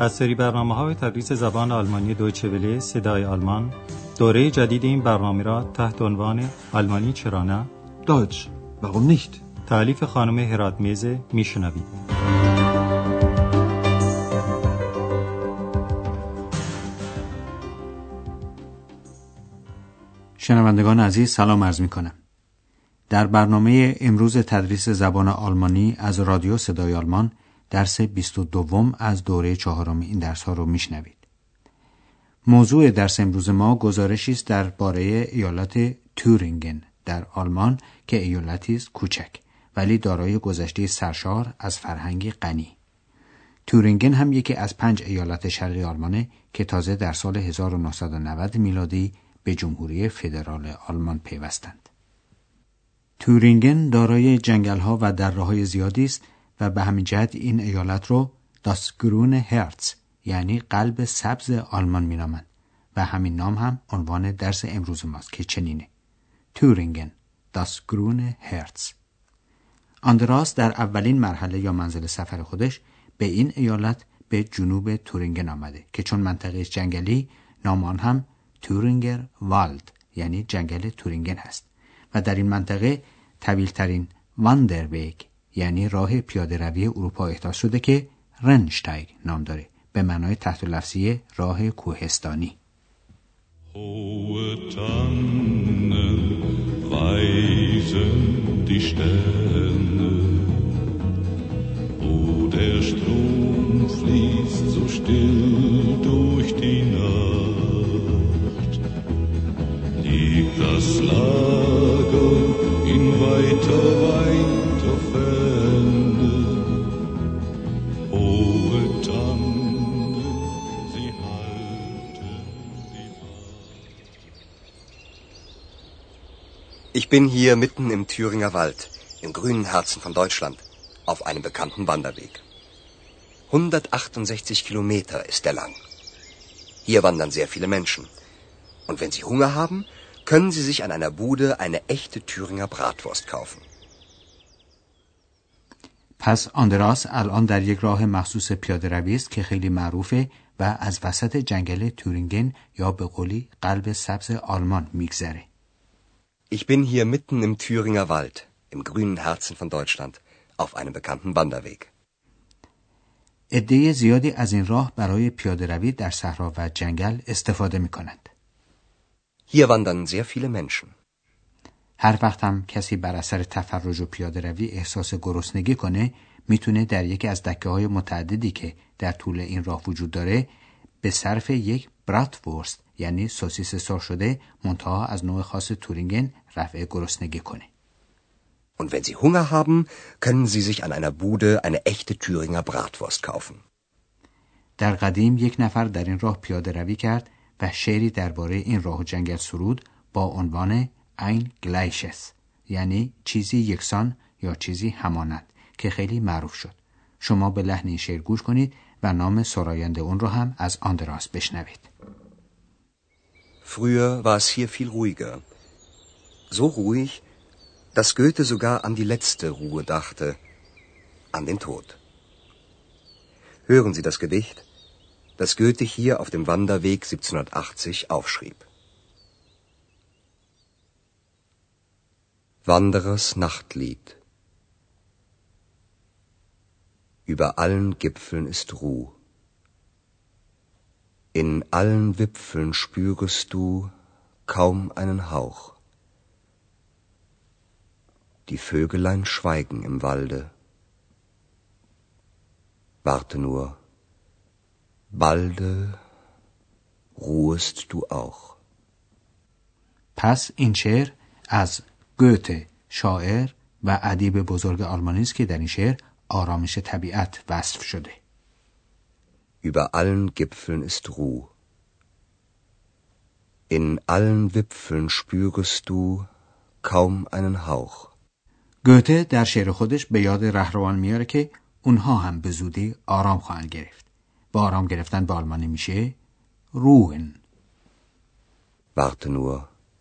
از سری برنامه‌های تدریس زبان آلمانی دویچه وله صدای آلمان، دوره جدید این برنامه را تحت عنوان آلمانی چرا نه؟ Deutsch, warum nicht? تألیف خانم هراتمیز میشنوید. شنوندگان عزیز سلام عرض می‌کنم. در برنامه امروز تدریس زبان آلمانی از رادیو صدای آلمان درس 22 از دوره 4 این درس‌ها رو میشنوید. موضوع درس امروز ما گزارشی است درباره ایالت تورینگن در آلمان که ایالتی است کوچک ولی دارای گذشته سرشار از فرهنگی غنی. تورینگن هم یکی از 5 ایالت شرقی آلمانه که تازه در سال 1990 میلادی به جمهوری فدرال آلمان پیوستند. تورینگن دارای جنگل‌ها و دره‌های زیادی است و به همین جهت این ایالت رو Das grüne Herz یعنی قلب سبز آلمان مینامند و همین نام هم عنوان درس امروز ماست که چنینه: تورینگن Das grüne Herz. آندراس در اولین مرحله یا منزل سفر خودش به این ایالت به جنوب تورینگن آمده که چون منطقه جنگلی نام آن هم تورینگر والد یعنی جنگل تورینگن هست و در این منطقه طویل‌ترین واندرویگ یعنی راه پیاده روی اروپا احداث شده که رنشتایگ نام داره به معنای تحت لفظی راه کوهستانی. Hohe Tannen weisen die Sterne, wo der Strom fließt so still durch die Nacht, liegt das Lager in weiter Ferne. Hohe Tannen, sie halten die Wacht. Ich bin hier mitten im Thüringer Wald, im grünen Herzen von Deutschland, auf einem bekannten Wanderweg. 168 Kilometer ist er lang. Hier wandern sehr viele Menschen. Und wenn Sie Hunger haben, können Sie sich an einer Bude eine echte Thüringer Bratwurst kaufen. پس آندراس الان در یک راه مخصوص پیاده روی است که خیلی معروفه و از وسط جنگل تورینگن یا به قولی قلب سبز آلمان میگذره. Ich bin hier mitten im Thüringer Wald, im grünen Herzen von Deutschland, auf einem bekannten Wanderweg. عده زیادی از این راه برای پیاده روی در صحرا و جنگل استفاده میکنند. Hier wandern sehr viele Menschen. هر وقت هم کسی بر اثر تفرج و پیاده روی احساس گرسنگی کنه میتونه در یکی از دکه‌های متعددی که در طول این راه وجود داره به صرف یک براتورست یعنی سوسیس سرخ شده منتها از نوع خاص تورینگن رفع گرسنگی کنه. Und wenn Sie Hunger haben, können Sie sich an einer Bude eine echte Thüringer Bratwurst kaufen. در قدیم یک نفر در این راه پیاده روی کرد و شعری درباره این راه و جنگل سرود با عنوان ein Gleiches یعنی چیزی یکسان یا چیزی همانند که خیلی معروف شد. شما به لحن این شعر گوش کنید و نام سراینده اون رو هم از آندراس بشنوید. Früher war es hier viel ruhiger. So ruhig, dass Goethe sogar an die letzte Ruhe dachte, an den Tod. Hören Sie das Gedicht, das Goethe hier auf dem Wanderweg 1780 aufschrieb. Wanderers Nachtlied. Über allen Gipfeln ist Ruh. In allen Wipfeln spürest du kaum einen Hauch. Die Vögelein schweigen im Walde. Warte nur, balde ruhest du auch. پس این شعر از گوته شاعر و ادیب بزرگ آلمانی است که در این شعر آرامش طبیعت وصف شده. Über allen Gipfeln ist Ruh. In allen Wipfeln spürest du kaum einen Hauch. گوته در شعر خودش به یاد رهروان میاره که اونها هم به زودی آرام خواهند گرفت. با آرام گرفتن به آلمانی میشه ruhen. Warte nur,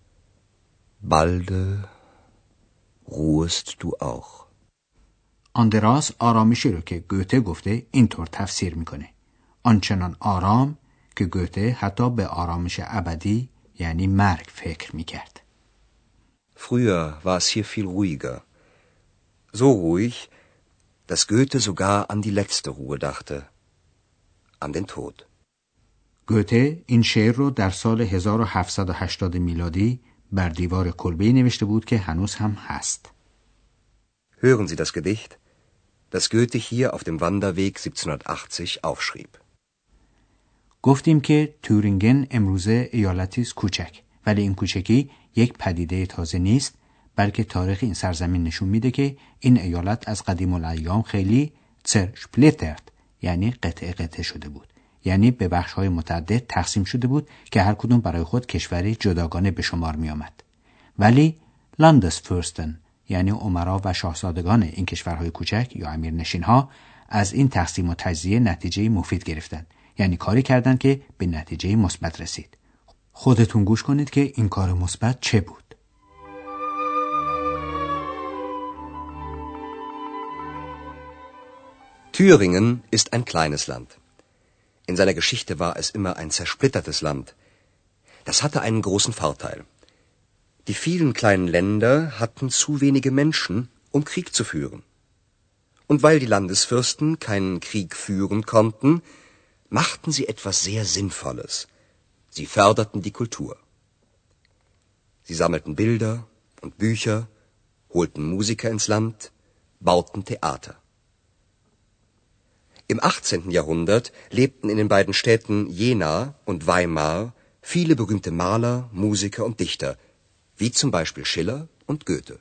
balde ruhest du auch. آندراس آرامشی رو که گوته گفته اینطور تفسیر میکنه: آنچنان آرام که گوته حتی به آرامش ابدی یعنی مرگ فکر میکرد. Früher war es hier viel ruhiger. So ruhig, dass Goethe sogar an die letzte Ruhe dachte. An den Tod. گوته این شعر رو در سال 1780 میلادی بر دیوار کلبه‌ای نوشته بود که هنوز هم هست. Hören Sie das Gedicht, das Goethe hier auf dem Wanderweg 1780 aufschrieb. گفتیم که تورینگن امروزه ایالتی است کوچک، ولی این کوچکی یک پدیده تازه نیست، بلکه تاریخ این سرزمین نشون میده که این ایالت از قدیم الایام خیلی زرشپلیترد یعنی قطعه قطعه شده بود، یعنی به بخش‌های متعدد تقسیم شده بود که هر کدوم برای خود کشوری جداگانه به شمار می آمد. ولی لاندسفورستن یعنی امرا و شاهزادگان این کشورهای کوچک یا امیرنشین‌ها از این تقسیم و تجزیه نتیجه مفید گرفتند، یعنی کاری کردند که به نتیجه مثبت رسید. خودتون گوش کنید که این کار مثبت چه بود. Thüringen ist ein kleines Land. In seiner Geschichte war es immer ein zersplittertes Land. Das hatte einen großen Vorteil. Die vielen kleinen Länder hatten zu wenige Menschen, um Krieg zu führen. Und weil die Landesfürsten keinen Krieg führen konnten, machten sie etwas sehr Sinnvolles. Sie förderten die Kultur. Sie sammelten Bilder und Bücher, holten Musiker ins Land, bauten Theater. Im 18. Jahrhundert lebten in den beiden Städten Jena und Weimar viele berühmte Maler, Musiker und Dichter, wie zum Beispiel Schiller und Goethe.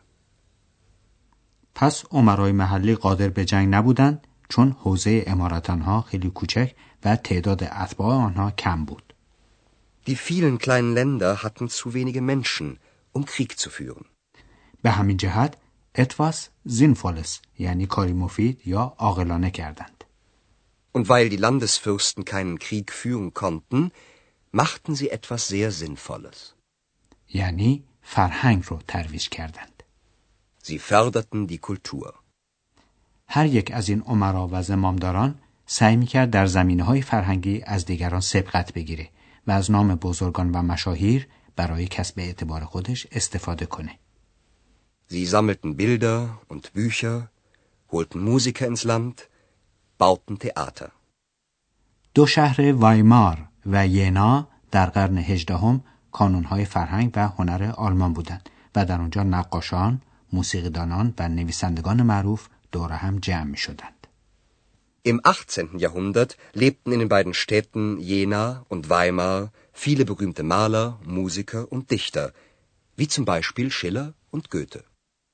پس امرای محلی قادر به جنگ نبودند چون حوزه امارت آنها خیلی کوچک و تعداد اتباع آنها کم بود. Die vielen kleinen Länder hatten zu wenige Menschen, um Krieg zu führen. به همین جهت etwas Sinnvolles یعنی کاری مفید یا عاقلانه کردند. Und weil die Landesfürsten keinen Krieg führen konnten, machten sie etwas sehr Sinnvolles. یعنی فرهنگ رو ترویج کردند. Sie förderten die Kultur. هر یک از این امرا و زمامداران سعی می‌کرد در زمینه‌های فرهنگی از دیگران سبقت بگیره و از نام بزرگان و مشاهیر برای کسب اعتبار خودش استفاده کنه. Sie sammelten Bilder und Bücher, holten Musiker ins Land, bauten Theater. دو شهر وایمار و ینا در قرن 18 کانون‌های فرهنگ و هنر آلمان بودند و در آنجا نقاشان، موسیقیدانان و نویسندگان معروف دور هم جمع می‌شدند. Im 18. Jahrhundert lebten in den beiden Städten Jena und Weimar viele berühmte Maler, Musiker und Dichter, wie zum Beispiel Schiller und Goethe.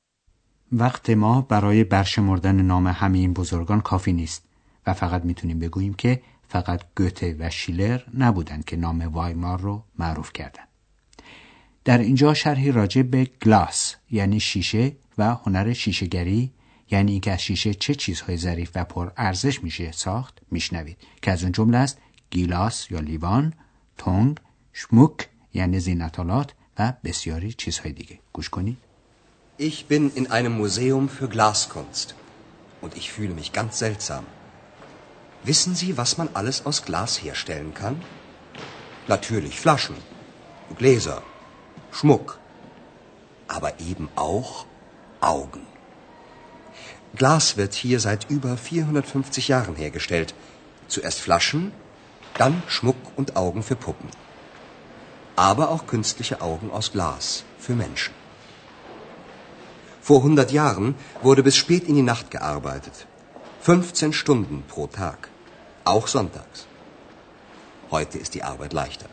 وقت ما برای برشمردن نام همه این بزرگان کافی نیست و فقط میتونیم بگوییم که فقط گوته و شیلر نبودند که نام وایمار رو معروف کردند. در اینجا شرحی راجع به گلاس یعنی شیشه و هنر شیشه‌گری یعنی اینکه از شیشه چه چیزهای ظریف و پر ارزش میشه ساخت میشنوید که از اون جمله است گیلاس یا لیوان، تونگ، شموک یعنی زینت‌آلات و بسیاری چیزهای دیگه. گوش کنید. Ich bin in einem Museum für Glaskunst und ich fühle mich ganz seltsam. Wissen Sie, was man alles aus Glas herstellen kann? Natürlich Flaschen, Gläser, Schmuck, aber eben auch Augen. Glas wird hier seit über 450 Jahren hergestellt. Zuerst Flaschen, dann Schmuck und Augen für Puppen. Aber auch künstliche Augen aus Glas für Menschen. Vor 100 Jahren wurde bis spät in die Nacht gearbeitet. 15 Stunden pro Tag. Auch sonntags. Heute ist die Arbeit leichter.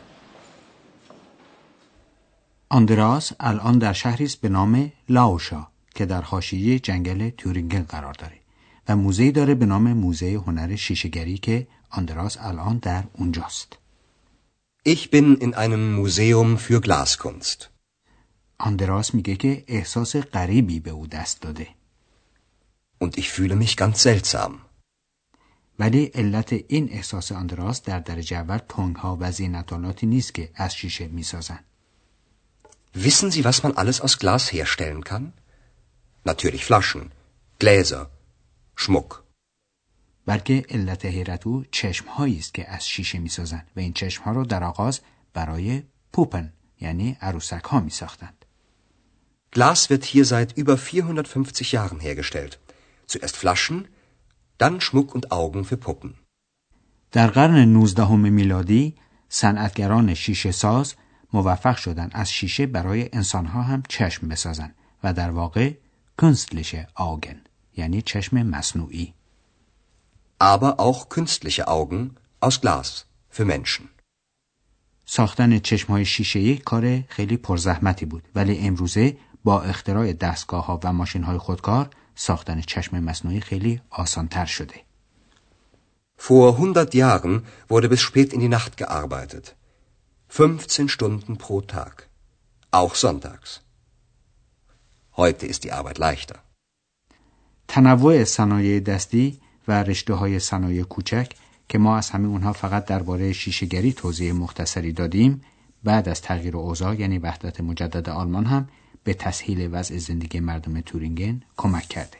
آندراس الان در شهری است به نام لاوشا که در حاشیه جنگل تورینگن قرار داره و موزه‌ای داره به نام موزه هنر شیشه‌گری که آندراس الان در اونجاست. Ich bin in einem Museum für Glaskunst. آندراس میگه که احساس غریبی به او دست داده. Und ich fühle mich ganz seltsam. ولی علت این احساس آندراس در درجه اول تونگ‌ها و زینت‌آلاتی نیست که از شیشه میسازن. Wissen Sie, was man alles aus Glas herstellen kann? Natürlich Flaschen, Gläser, Schmuck. بلکه علت حیرت او چشم‌هایی است که از شیشه می‌سازند و این چشم‌ها رو در آغاز برای پوپن یعنی عروسک‌ها می‌ساختند. Glas wird hier seit über 450 Jahren hergestellt. Zuerst Flaschen, dann Schmuck und Augen für Puppen. در قرن 19 میلادی صنعتگران شیشه ساز موفق شدند از شیشه برای انسان‌ها هم چشم بسازند و در واقع künstliche Augen یعنی چشم مصنوعی. Aber auch künstliche Augen aus Glas für Menschen. ساختن چشم‌های شیشه‌ای کار خیلی پرزحمتی بود، ولی امروزه با اختراع دستگاه‌ها و ماشین‌های خودکار ساختن چشم مصنوعی خیلی آسان‌تر شده. Vor 100 Jahren wurde bis spät in die Nacht gearbeitet. 15 Stunden pro Tag. Auch sonntags. Heute ist die Arbeit leichter. تنوع صنایع دستی و رشته‌های صنایع کوچک که ما از همه اونها فقط درباره شیشه‌گری توضیح مختصری دادیم، بعد از تغییر اوضاع یعنی وحدت مجدد آلمان هم به تسهیل وضع زندگی مردم تورینگن کمک کرده.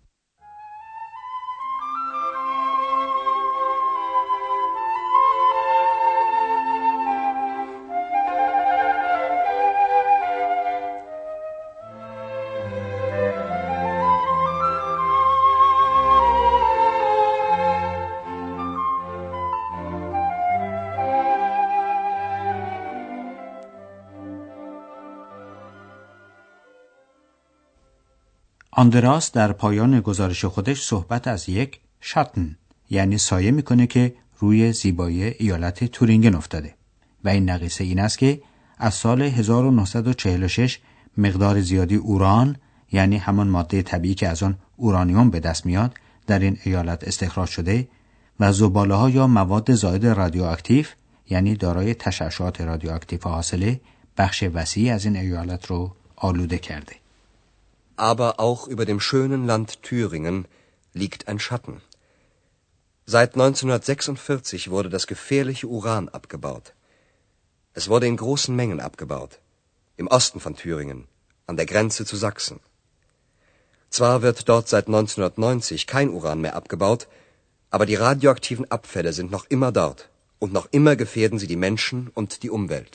آندراس در پایان گزارش خودش صحبت از یک شاتن یعنی سایه میکنه که روی زیبایی ایالت تورینگن افتاده و این نقیصه این است که از سال 1946 مقدار زیادی اوران یعنی همان ماده طبیعی که از آن اورانیوم به دست میاد در این ایالت استخراج شده و زباله‌ها یا مواد زائد رادیواکتیو یعنی دارای تشعشعات رادیواکتیو حاصله بخش وسیعی از این ایالت رو آلوده کرده. Aber auch über dem schönen Land Thüringen liegt ein Schatten. Seit 1946 wurde das gefährliche Uran abgebaut. Es wurde in großen Mengen abgebaut. Im Osten von Thüringen, an der Grenze zu Sachsen. Zwar wird dort seit 1990 kein Uran mehr abgebaut, aber die radioaktiven Abfälle sind noch immer dort. Und noch immer gefährden sie die Menschen und die Umwelt.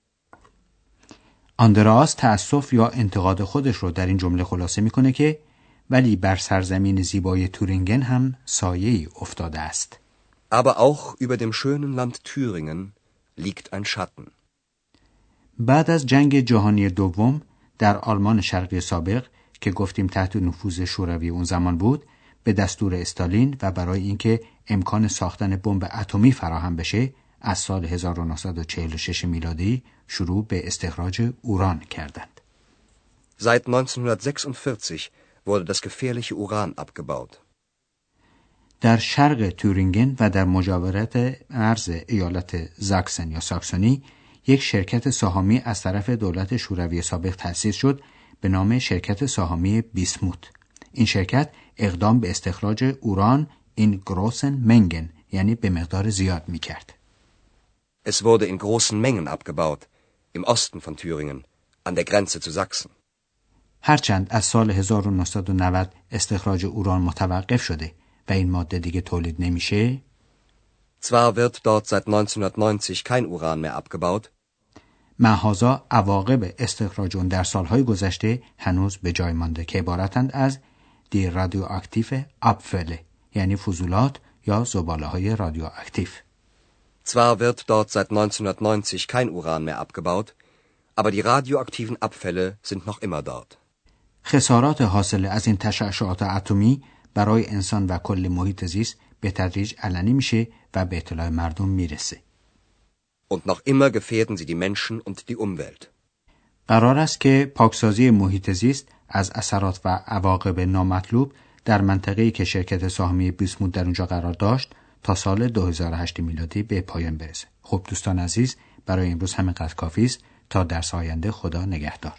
آندراس تأسف یا انتقاد خودش رو در این جمله خلاصه میکنه که ولی بر سرزمین زیبای تورینگن هم سایه‌ای افتاده است. Aber auch über dem schönen Land Thüringen liegt ein Schatten. بعد از جنگ جهانی دوم در آلمان شرقی سابق که گفتیم تحت نفوذ شوروی اون زمان بود، به دستور استالین و برای اینکه امکان ساختن بمب اتمی فراهم بشه از سال 1946 میلادی شروع به استخراج اوران کردند. Seit 1946 wurde das gefährliche Uran abgebaut. در شرق تورینگن و در مجاورت مرز ایالت زاکسن یا ساکسونی یک شرکت سهامی از طرف دولت شوروی سابق تأسیس شد به نام شرکت سهامی بیسموت. این شرکت اقدام به استخراج اوران این großen Mengen یعنی به مقدار زیاد می‌کرد. Es wurde in großen Mengen abgebaut, im Osten von Thüringen, an der Grenze zu Sachsen. هرچند از سال 1990 استخراج اوران متوقف شده و این ماده دیگه تولید نمیشه. Zwar wird dort seit 1990 kein Uran mehr abgebaut. محاذا عواقب استخراج اون در سالهای گذشته هنوز به جای مانده که عبارتند از دی رادیواکتیف ابفله یعنی فضولات یا زباله‌های رادیواکتیو. Zwar wird dort seit 1990 kein Uran mehr abgebaut, aber die radioaktiven Abfälle sind noch immer dort. خسارات حاصل از این تشعشعات اتمی برای انسان و کل محیط زیست به تدریج علنی میشه و به اطلاع مردم میرسه. Und noch immer gefährden sie die Menschen und die Umwelt. قرار است که پاکسازی محیط زیست از اثرات و عواقب نامطلوب در منطقه‌ای که شرکت سهامی بیسموت در اونجا قرار داشت تا سال 2008 میلادی به پایان برسه. خب دوستان عزیز، برای امروز همینقدر کافی است. تا درس آینده خدا نگهدار.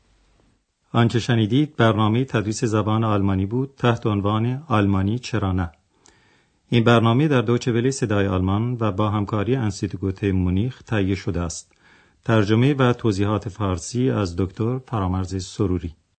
آنچه شنیدید برنامه تدریس زبان آلمانی بود تحت عنوان آلمانی چرا نه. این برنامه در دویچه وله صدای آلمان و با همکاری انستیتوت گوته مونیخ تهیه شده است. ترجمه و توضیحات فارسی از دکتر فرامرز سروری.